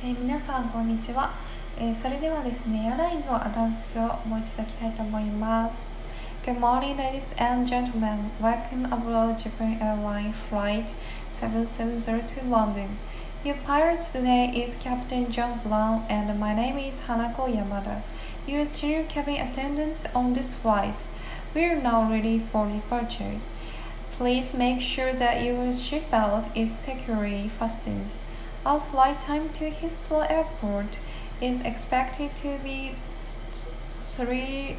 皆さんこんにちは。それではですね、エアラインのアナウンスをもう一度いきたいと思います。Good morning, ladies and gentlemen. Welcome aboard Japan Airlines Flight 770 to London. Your pilot today is Captain John Brown, and my name is Hanako Yamada. Your senior cabin attendant on this flight. We are now ready for departure. Please make sure that your seatbelt is securely fastened. Our flight time to Heathrow Airport is expected to be 13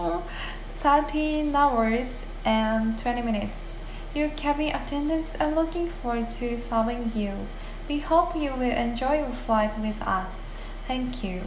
hours and 20 minutes. Your cabin attendants are looking forward to serving you. We hope you will enjoy your flight with us. Thank you.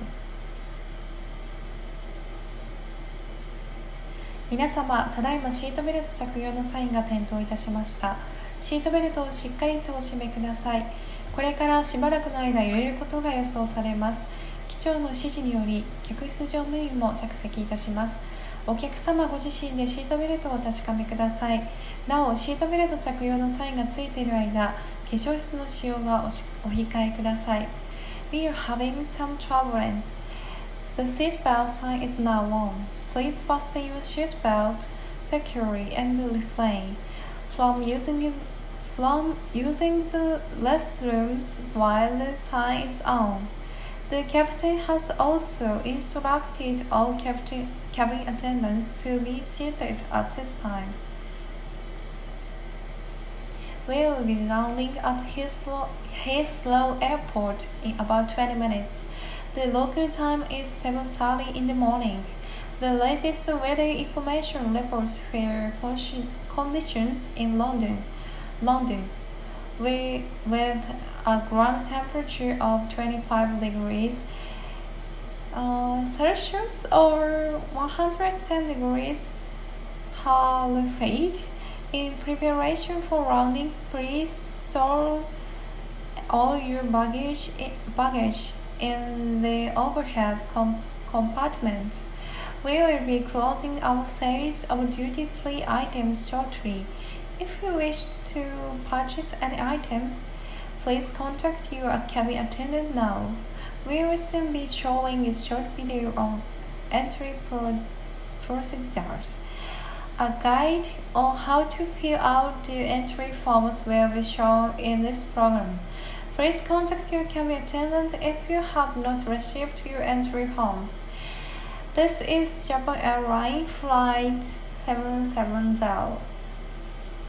皆様、ただいまシートベルト着用のサインが点灯いたしました。シートベルトをしっかりとお締めください。これからしばらくの間揺れることが予想されます。機長の指示により客室乗務員も着席いたします。お客様ご自身でシートベルトをお確かめください。なお、シートベルト着用のサインがついている間、化粧室の使用はお控えください。We are having some turbulence. The seatbelt sign is now on. Please fasten your seatbelt securely and refrain from using the restrooms while the sign is on. The captain has also instructed all cabin attendants to be seated at this time. We will be landing at Heathrow Airport in about 20 minutes. The local time is 7:30 in the morning. The latest weather information reports fair conditions in London, with a ground temperature of 25 degrees Celsius or 110 degrees Fahrenheit. In preparation for landing, please store all your baggage in the overhead compartment. We will be closing our sales of duty-free items shortly. If you wish to purchase any items, please contact your cabin attendant now. We will soon be showing a short video on entry procedures. A guide on how to fill out the entry forms will be shown in this program. Please contact your cabin attendant if you have not received your entry forms. This is Japan Airlines Flight 770.